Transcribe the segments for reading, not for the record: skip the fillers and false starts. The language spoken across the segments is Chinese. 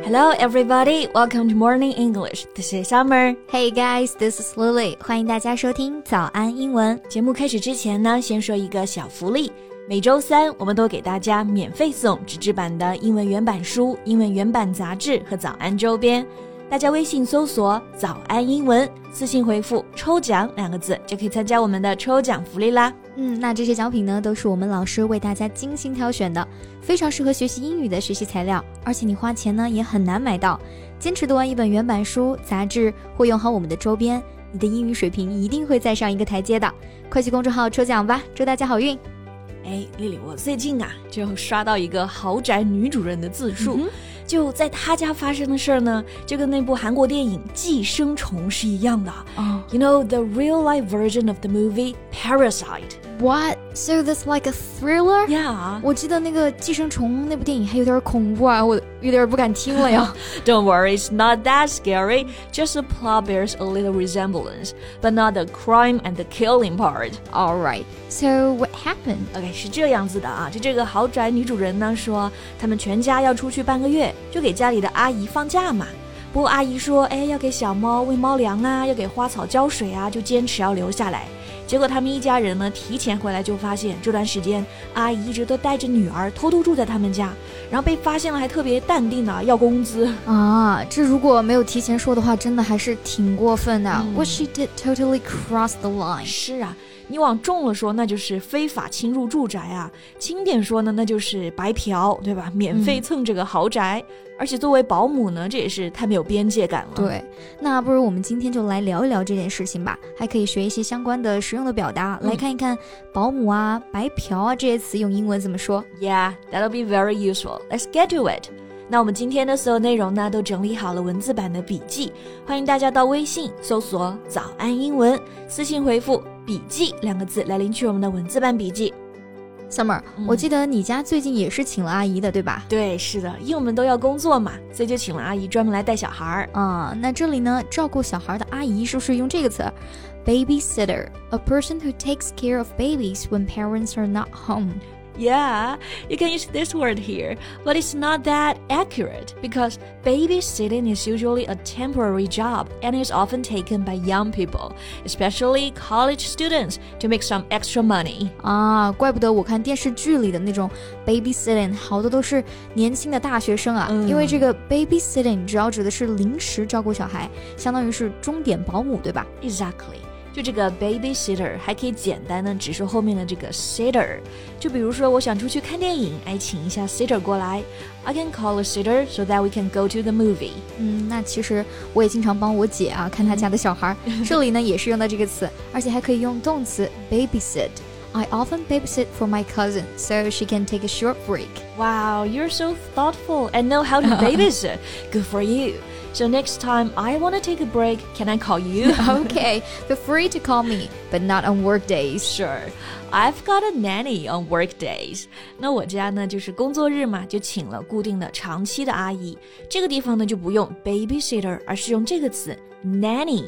Hello everybody, welcome to Morning English. This is Summer. Hey guys, this is Lily. 欢迎大家收听早安英文。 节目开始之前呢，先说一个小福利。每周三我们都给大家免费送纸质版的英文原版书、英文原版杂志和早安周边。大家微信搜索早安英文，私信回复抽奖2个字就可以参加我们的抽奖福利啦。 那这些奖品呢，都是我们老师为大家精心挑选的，非常适合学习英语的学习材料，而且你花钱呢也很难买到。坚持读完一本原版书、杂志，或用好我们的周边，你的英语水平一定会再上一个台阶的。快去公众号抽奖吧，祝大家好运。 丽丽，我最近就刷到一个豪宅女主人的自述，就在她家发生的事儿呢，就跟那部韩国电影《寄生虫》是一样的。You know the real life version of the movie Parasite. What? So that's like a thriller? Yeah. 我记得那个寄生虫那部电影还有点恐怖啊，我有点不敢听了呀。 Don't worry, it's not that scary. Just the plot bears a little resemblance, but not the crime and the killing part. Alright, so what happened? OK, 是这样子的啊，就这个豪宅女主人呢说，他们全家要出去半个月，就给家里的阿姨放假嘛。不过阿姨说，要给小猫喂猫粮啊，要给花草浇水啊，就坚持要留下来。结果他们一家人呢提前回来就发现这段时间阿姨一直都带着女儿偷偷住在他们家，然后被发现了还特别淡定的要工资啊，这如果没有提前说的话，真的还是挺过分的。What she did totally crossed the line. 是啊，你往重了说那就是非法侵入住宅啊，轻点说呢那就是白嫖，对吧？免费蹭这个豪宅。而且作为保姆呢，这也是太没有边界感了。 对，那不如我们今天就来聊一聊这件事情吧，还可以学一些相关的实用的表达，来看一看保姆啊、白嫖啊这些词用英文怎么说。 Yeah, that'll be very useful. Let's get to it. 那我们今天的所有内容呢，都整理好了文字版的笔记，欢迎大家到微信搜索早安英文，私信回复笔记2个字来领取我们的文字版笔记。 Summer，我记得你家最近也是请了阿姨的，对吧？ 对，是的，因为我们都要工作嘛，所以就请了阿姨专门来带小孩。 那这里呢，照顾小孩的阿姨是不是用这个词 ？Babysitter, a person who takes care of babies when parents are not home.Yeah, you can use this word here, but it's not that accurate because babysitting is usually a temporary job and is often taken by young people, especially college students, to make some extra money. 怪不得我看电视剧里的那种 babysitting 好多都是年轻的大学生啊，因为这个 babysitting 主要指的是临时照顾小孩，相当于是钟点保姆，对吧？ Exactly.就这个 babysitter 还可以简单的只说后面的这个 sitter， 就比如说我想出去看电影，请一下 sitter 过来。I can call a sitter so that we can go to the movie. 那其实我也经常帮我姐看她家的小孩，这里呢也是用到这个词，而且还可以用动词 babysit。I often babysit for my cousin, so she can take a short break. Wow, you're so thoughtful and know how to babysit. Good for you.So next time I want to take a break, can I call you? Okay, feel free to call me, but not on work days. Sure. I've got a nanny on work days. 那我家呢就是工作日嘛，就请了固定的长期的阿姨。这个地方呢就不用 babysitter， 而是用这个词 nanny,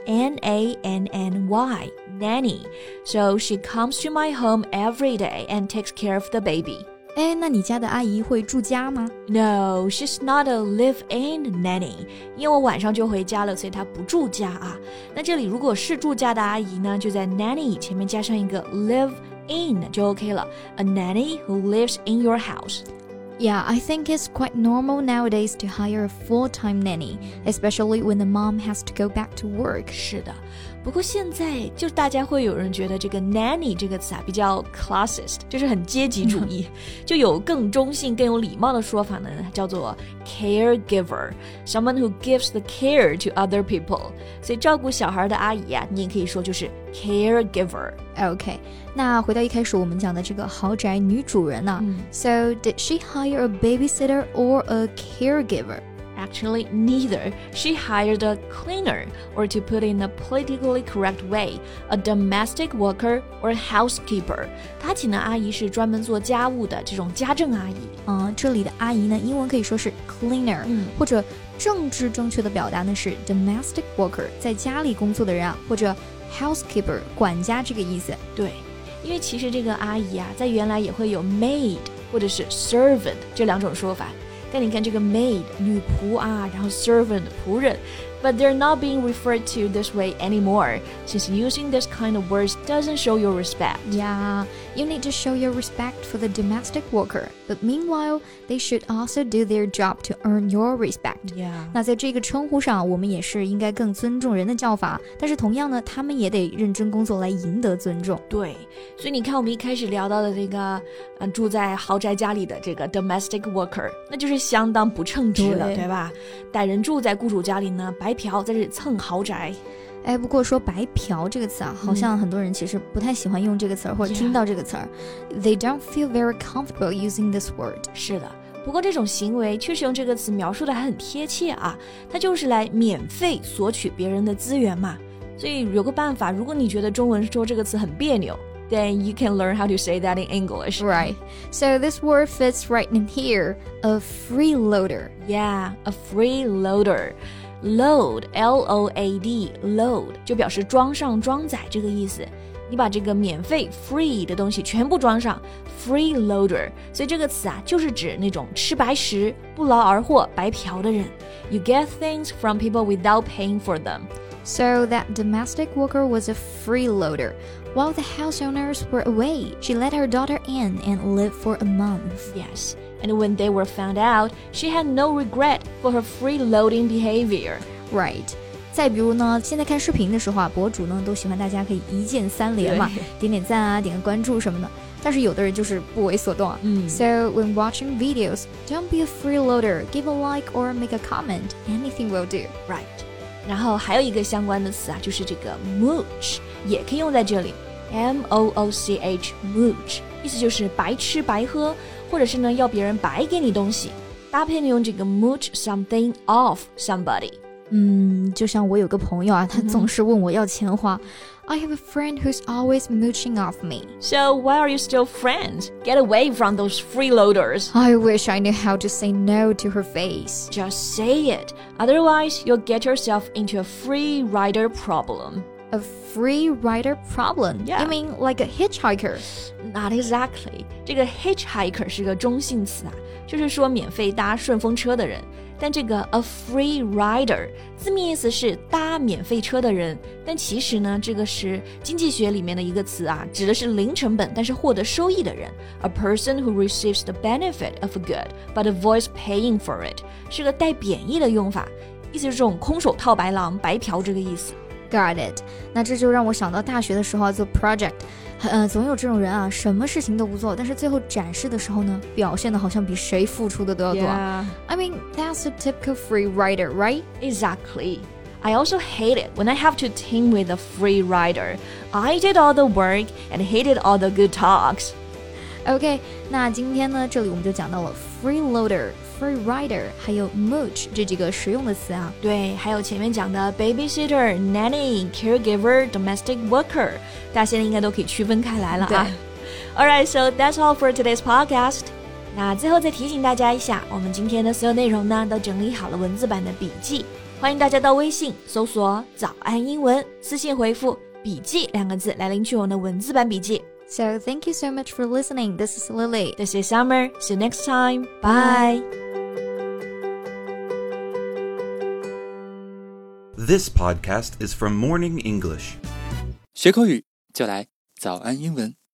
N-A-N-N-Y, nanny. So she comes to my home every day and takes care of the baby. 那你家的阿姨会住家吗？ No, she's not a live-in nanny. 因为我晚上就回家了，所以她不住家啊。那这里如果是住家的阿姨呢，就在 nanny 前面加上一个 live-in 就 OK 了。A nanny who lives in your house.Yeah, I think it's quite normal nowadays to hire a full-time nanny, especially when the mom has to go back to work. 是的，不过现在就大家会有人觉得这个 nanny 这个词比较 classist， 就是很阶级主义，就有更中性、更有礼貌的说法呢，叫做 caregiver, someone who gives the care to other people. 所以照顾小孩的阿姨你也可以说就是 caregiver. Okay, 那回到一开始我们讲的这个豪宅女主人So did she hire a babysitter or a caregiver? Actually, neither. She hired a cleaner, or to put in a politically correct way, a domestic worker or housekeeper. 她请的阿姨是专门做家务的这种家政阿姨。 这里的阿姨呢，英文可以说是 cleaner，或者政治正确的表达呢是 domestic worker， 在家里工作的人或者 housekeeper 管家这个意思。 对，因为其实这个阿姨在原来也会有 maid 或者是 servant 这两种说法。 但你看这个 maid 女仆啊，然后 servant 仆人。But they're not being referred to this way anymore, since using this kind of words doesn't show your respect. Yeah, you need to show your respect for the domestic worker, but meanwhile, they should also do their job to earn your respect. Yeah. 那在这个称呼上，我们也是应该更尊重人的叫法，但是同样呢，他们也得认真工作来赢得尊重。 对，所以你看我们一开始聊到的这个，住在豪宅家里的这个 domestic worker， 那就是相当不称职的，对吧？歹人住在雇主家里呢，白嫖在这里蹭豪宅。 哎，不过说白嫖这个词啊，好像很多人其实不太喜欢用这个词儿，或者听到这个词儿。They don't feel very comfortable using this word. 是的，不过这种行为确实用这个词描述的还很贴切啊，它就是来免费索取别人的资源嘛。所以有个办法，如果你觉得中文说这个词很别扭， then you can learn how to say that in English. Right. So this word fits right in here. A freeloader. Yeah, a freeloader.Load, L-O-A-D, load 就表示装上装载这个意思。你把这个免费 free 的东西全部装上 freeloader， 所以这个词啊就是指那种吃白食、不劳而获、白嫖的人。You get things from people without paying for them. So that domestic worker was a freeloader. While the house owners were away, she let her daughter in and lived for a month. Yes.And when they were found out, she had no regret for her freeloading behavior. Right. 再比如呢，现在看视频的时候啊，博主呢都喜欢大家可以一键三连嘛，点点赞啊，点个关注什么的。但是有的人就是不为所动啊。So when watching videos, don't be a freeloader. Give a like or make a comment. Anything will do. Right. 然后还有一个相关的词啊，就是这个 mooch， 也可以用在这里。M-O-O-C-H, mooch， 意思就是白吃白喝。或者是呢，要别人白给你东西，搭配呢用这个 mooch something off somebody。 就像我有个朋友啊，他总是问我要钱花。I have a friend who's always mooching off me. So why are you still friends? Get away from those freeloaders. I wish I knew how to say no to her face. Just say it. Otherwise, you'll get yourself into a free rider problem.A free rider problem? Yeah. You mean like a hitchhiker? Not exactly. 这个 hitchhiker 是个中性词啊，就是说免费搭顺风车的人。但这个 a free rider 字面意思是搭免费车的人，但其实呢，这个是经济学里面的一个词啊，指的是零成本但是获得收益的人。A person who receives the benefit of a good but avoids paying for it 是个带贬义的用法，意思是这种空手套白狼、白嫖这个意思。 Got it. 那这就让我想到大学的时候做 project，总有这种人啊，什么事情都不做，但是最后展示的时候呢，表现的好像比谁付出的都要多。 Yeah. I mean, that's a typical free rider, right? Exactly. I also hate it when I have to team with a free rider. I did all the work and hated all the good talks. OK, 那今天呢，这里我们就讲到了 freeloader、free rider 还有 mooch 这几个实用的词啊。 对，还有前面讲的 babysitter, nanny, caregiver, domestic worker， 大家现在应该都可以区分开来了啊。Alright, so that's all for today's podcast. 那最后再提醒大家一下，我们今天的所有内容呢，都整理好了文字版的笔记，欢迎大家到微信搜索早安英文，私信回复笔记2个字来领取我们的文字版笔记。 So thank you so much for listening. This is Lily. This is Summer. See you next time. Bye. This podcast is from Morning English. 学口语就来早安英文。